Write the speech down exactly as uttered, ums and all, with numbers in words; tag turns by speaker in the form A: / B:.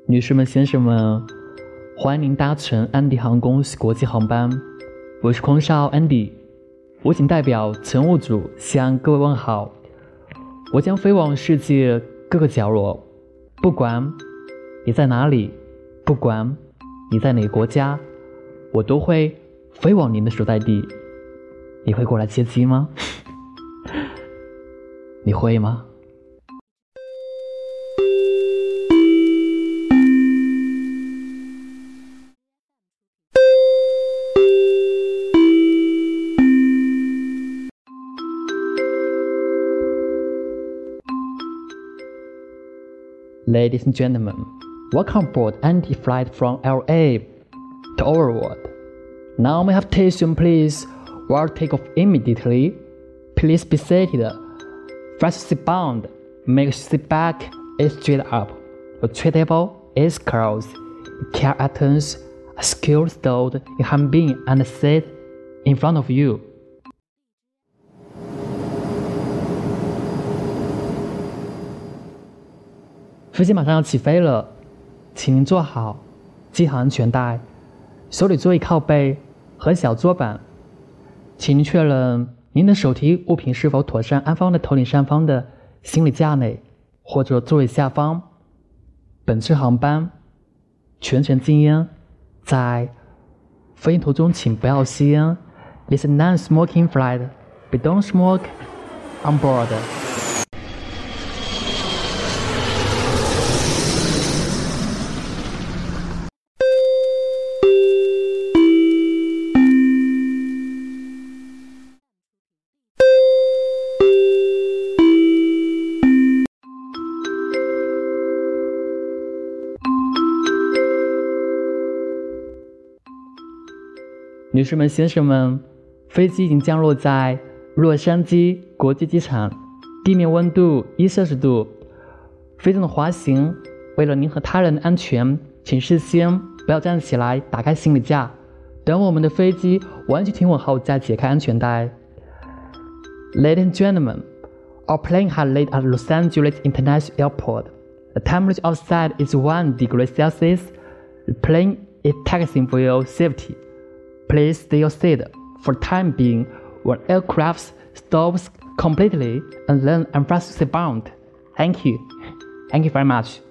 A: 女士们、先生们，欢迎您搭乘安迪航空国际航班，我是空少安迪，我谨代表乘务组向各位问好。我将飞往世界各个角落，不管你在哪里，不管你在哪个国家，我都会飞往您的所在地。你会过来接机吗？你会吗？Ladies and gentlemen, welcome aboard Andy flight from L A to our world. Now may I have attention please, while take off immediately. Please be seated. Fast seat bound. Make seat back is straight up. The tray table is closed. Care items are securely stored in hand bin and seat in front of you. 飞机马上要起飞了，请您坐好，系好安全带，手里座椅靠背和小桌板，请您确认您的手提物品是否妥善安放在头顶上方的行李架内或者座位下方。本次航班全程禁烟，在飞行途中请不要吸烟。This is non-smoking flight. We don't smoke on board. 女士们、先生们，飞机已经降落在洛杉矶国际机场，地面温度一摄氏度。飞机的滑行，为了您和他人的安全，请事先不要站起来打开行李架，等我们的飞机完全停稳后再解开安全带。Ladies and gentlemen, our plane has landed at Los Angeles International Airport. The temperature outside is one degree Celsius. The plane is taxiing for your safety.Please stay your seat for the time being when aircraft stops completely and then unfasten seat bound. Thank you. Thank you very much.